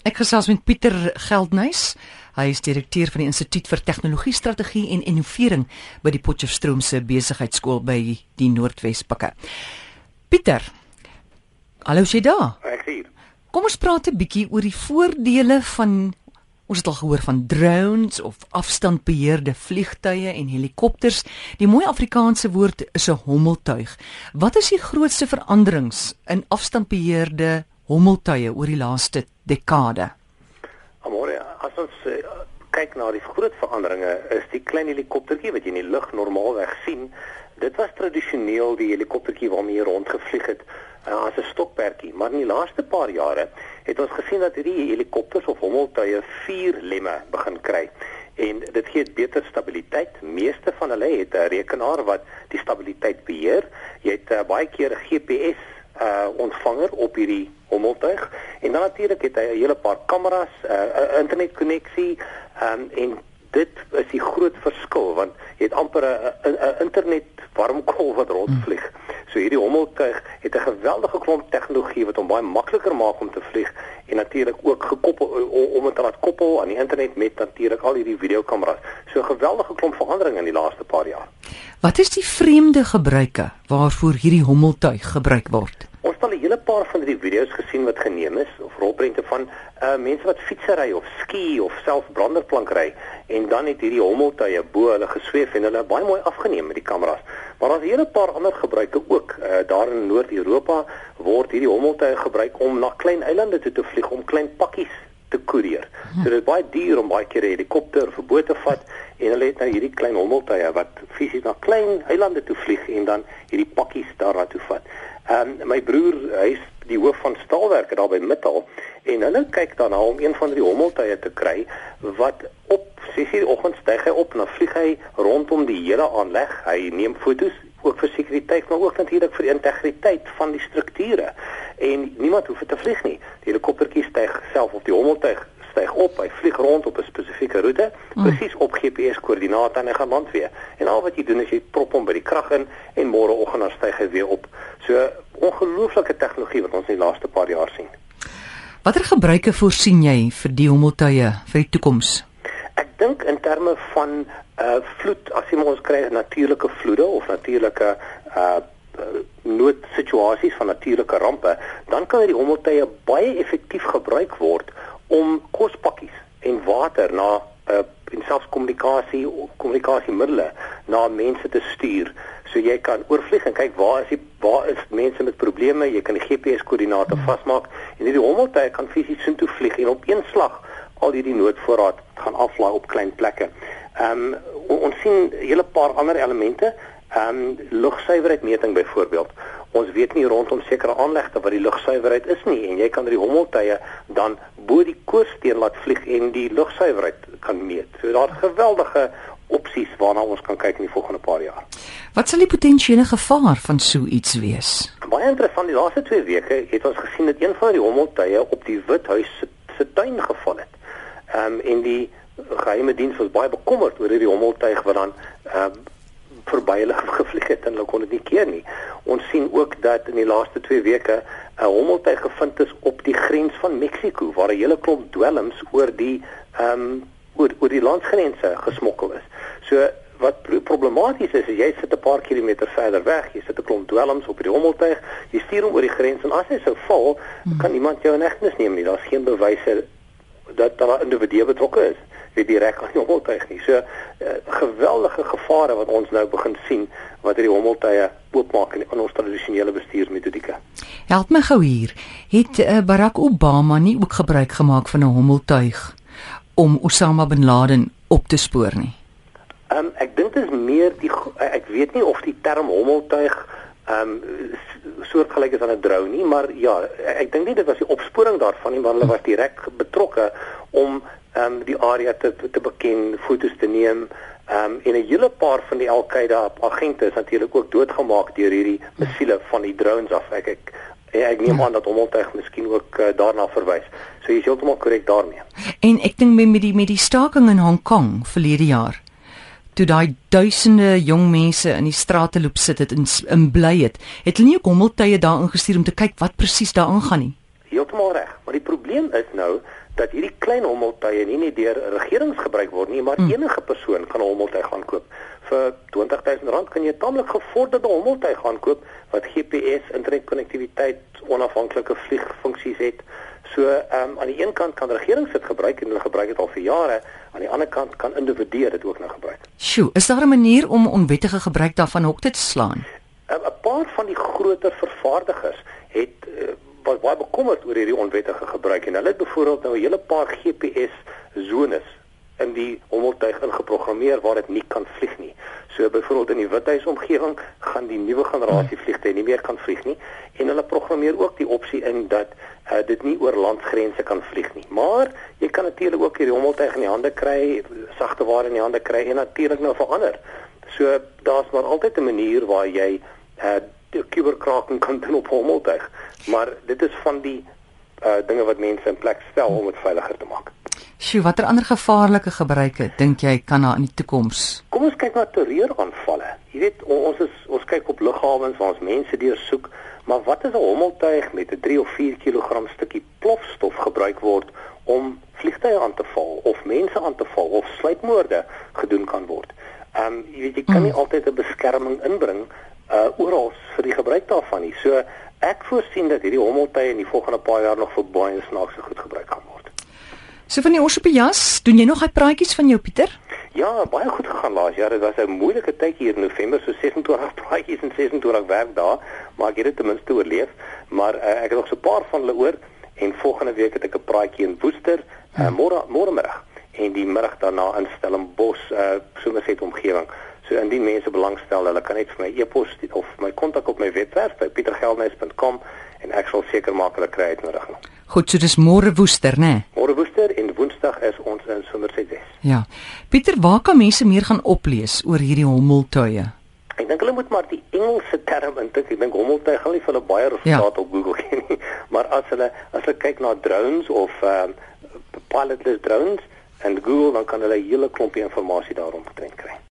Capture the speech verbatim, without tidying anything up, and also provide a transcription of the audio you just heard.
Ek gesels met Pieter Geldnys. Hy is direkteur van die Instituut vir Tegnologie, Strategie en Innovering by die Potchefstroomse Besigheidskool by die Noordwes-Pikke. Pieter, hallo jy daar? Ek hier. Kom ons praat 'n bietjie oor die voordele van, ons het al gehoor van drones of afstandbeheerde vliegtuie en helikopters. Die mooi Afrikaanse woord is 'n hommeltuig. Wat is die grootste veranderings in afstandbeheerde hommeltuie oor die laaste dekade? Amore, as ons uh, kyk na die groot veranderinge, is die klein helikoptertjie wat jy in die lug normaalweg sien. Dit was tradisioneel die helikoptertjie waarmee jy rondgevlieg het uh, as 'n stokperdjie, maar in die laaste paar jare het ons gesien dat hierdie helikopters of hommeltuie vier lemme begin kry. En dit gee beter stabiliteit. Meeste van hulle het 'n rekenaar wat die stabiliteit beheer. Jy het uh, baie keer 'n G P S uh, ontvanger op hierdie hommeltuig, en dan natuurlik het hy 'n hele paar kameras, 'n uh, internetkonneksie, um, en dit is die groot verskil, want jy het amper 'n internet warmkol wat rondvlieg. So hierdie hommeltuig het 'n geweldige klomp tegnologie wat hom baie makliker maak om te vlieg, en natuurlik ook gekoppel om dit te laat koppel aan die internet met natuurlik al hierdie videokameras. So 'n geweldige klomp verandering in die laaste paar jaar. Wat is die vreemde gebruike waarvoor hierdie hommeltuig gebruik word? Ons het al 'n hele paar van die video's gesien wat geneem is, of rolprente van uh, mense wat fietsry of ski of self branderplank ry, en dan het hierdie hommeltuie bo hulle gesweef en hulle baie mooi afgeneem met die kameras. Maar daar's 'n hele paar ander gebruike ook. Uh, daar in Noord-Europa word hierdie hommeltuie gebruik om na klein eilande toe te vlieg, om klein pakkies te koerier. So dit is baie duur om baie keer 'n helikopter of 'n boot te vat, en hulle het nou hierdie klein hommeltuie wat fisies na klein eilande toe vlieg en dan hierdie pakkies daarna toe vat. Um, my broer, hy is die hoof van staalwerke daar by Mittal, en hulle kyk daarna om een van die hommeltuie te kry wat op ses uur die oggend styg hy op en dan vlieg hy rondom die hele aanleg. Hy neem foto's ook vir sekuriteit, maar ook natuurlik vir die integriteit van die strukture, en niemand hoef te vlieg nie. Die helikoptertjie styg self of die hommeltuig styg op, hy vlieg rond op 'n spesifieke roete, mm. presies op G P S-koördinate, en hy gaan land weer. En al wat jy doen is jy prop hom by die krag in, en môreoggend dan styg hy weer op. So ongelooflike tegnologie wat ons in die laaste paar jaar sien. Watter gebruike voorsien jy vir die hommeltuie vir die toekoms? Ek dink in terme van uh, vloed, as jy ons kry natuurlike vloede of natuurlike uh, noodsituasies van natuurlike rampe, dan kan die hommeltuie baie effektief gebruik word om kospakkies en water na uh, en selfs kommunikasie kommunikasiemiddele na mense te stuur. So jy kan oorvlieg en kyk waar is die, waar is mense met probleme, jy kan die G P S-koördinate vasmaak, en hierdie hommeltuie kan fisies soontoe vlieg en op een slag al hierdie noodvoorraad gaan aflaai op klein plekke. Um, ons sien 'n hele paar ander elemente, um, lugsuiwerheidmeting byvoorbeeld. Ons weet nie rondom sekere aanlegte wat die lugsuiwerheid is nie, en jy kan die hommeltuie dan bo die koorsteen laat vlieg en die lugsuiwerheid kan meet. So daar's geweldige opsies waarna ons kan kyk in die volgende paar jaar. Wat sal die potensiële gevaar van so iets wees? Baie interessant, die laaste twee weke het ons gesien dat een van die hommeltuie op die Withuis se, se tuin geval het. Um, en die geheime diens was baie bekommerd oor hierdie hommeltuig wat dan um, verby hulle gevlieg het en hulle kon dit nie keer nie. Ons sien ook dat in die laaste twee weke 'n hommeltuig gevind is op die grens van Mexiko, waar 'n hele klomp dwelms oor die um, oor, oor die landsgrense gesmokkel is. So wat problematies is, is jy sit 'n paar kilometer verder weg, jy sit 'n klomp dwelms op die hommeltuig, jy stuur hom oor die grens, en as hy sou val, hmm. kan niemand jou in hegtenis neem nie. Daar's geen bewyse dat daar 'n individu betrokke is wie direk aan die hommeltuig nie. So uh, geweldige gevare wat ons nou begin sien wat hierdie hommeltuie oopmaak in, in ons tradisionele bestuursmetodieke. Help my gou hier. Het uh, Barack Obama nie ook gebruik gemaak van 'n hommeltuig om Osama bin Laden op te spoor nie? Um, ek dink dit is meer die ek weet nie of die term hommeltuig um, soortgelyk is aan 'n drone nie, maar ja, ek dink nie dit was die opsporing daarvan nie, maar hulle was direk betrokke om um, die area te te beken, foto's te neem, um, en 'n hele paar van die Al-Qaeda agente is natuurlik ook doodgemaak deur hierdie missiele van die drones af. Ek ek ek neem aan dat hommeltuig miskien ook uh, daarna verwys. So jy is heeltemal korrek daarmee. En ek dink met die met die staking in Hong Kong verlede jaar, toe daai duisende jong mense in die strate loop sit het en in bly het, het hulle nie ook hommeltuie daar ingestuur om te kyk wat presies daar aangaan nie? heeltemal reg. Maar die probleem is nou dat hierdie klein hommeltuie nie net deur regerings gebruik word nie, maar hmm. enige persoon kan 'n hommeltuig gaan koop. Vir twintig duisend rand kan jy 'n tamelik gevorderde hommeltuig gaan koop wat G P S, internetkonnektiwiteit, onafhanklike vliegfunksies het. So um, aan die een kant kan regerings dit gebruik en hulle gebruik dit al vir jare, aan die ander kant kan individue dit ook nou gebruik. Sjoe, is daar 'n manier om onwettige gebruik daarvan hok te slaan? 'n Paar van die groter vervaardigers het uh, was baie bekommerd oor hierdie onwettige gebruik en hulle het byvoorbeeld nou 'n hele paar G P S zones in die hommeltuig ingeprogrammeer waar dit nie kan vlieg nie. So byvoorbeeld in die Withuisomgewing gaan die nuwe generasie vliegtuie nie meer kan vlieg nie en hulle programmeer ook die opsie in dat uh, dit nie oor landsgrense kan vlieg nie. Maar jy kan natuurlik ook hierdie hommeltuig in die hande kry, sagte ware in die hande kry en natuurlik nou verander. So daar's maar altyd 'n manier waar jy uh, die kuberkraking kan doen op hommeltuig. Maar dit is van die uh, dinge wat mense in plek stel om dit veiliger te maak. Sjoe, watter ander gevaarlike gebruike dink jy kan daar in die toekoms? Kom ons kyk na terreuraanvalle. Jy weet, ons is ons kyk op lughawens waar ons mense deursoek, maar wat is 'n hommeltuig met 'n drie of vier kilogram stukkie plofstof gebruik word om vliegtuie aan te val of mense aan te val of sluipmoorde gedoen kan word? Ehm um, jy weet jy kan nie mm. altyd 'n beskerming inbring uh oral vir die gebruik daarvan nie. So ek voorsien dat hierdie hommeltuie in die volgende paar jaar nog vir baie snaakse goed gebruik gaan word. So van die os op die jas, doen jy nog hy praatjies van jou, Pieter? Ja, baie goed gegaan laas jaar. Dit was 'n moeilike tyd hier in November, so ses en twintig praatjies en ses en twintig werkdae, maar ek het dit ten minste oorleef. Maar uh, ek het nog so 'n paar van hulle oor en volgende week het ek 'n praatjie in Woester, uh, môre môremiddag en die middag daarna in Stellenbosch, uh, Somerset omgewing. So indien mense belangstel, hulle kan net vir my e-pos of my kontak op my webwerf by pieter geldnys punt com en ek sal seker maak hulle kry uitnodiging. Goed, so dis môre Woester, né? Nee? Môre Woester en Woensdag is ons in Somerset Wes. Ja. Pieter, waar kan mense meer gaan oplees oor hierdie hommeltuie? Ek dink hulle moet maar die Engelse term intik. Ek dink hommeltuig gaan nie vir hulle baie resultate ja. op Google gee nie, maar as hulle as hulle kyk na drones of um, pilotless drones en Google, dan kan hulle 'n hele klompie inligting daaroor omtrent kry.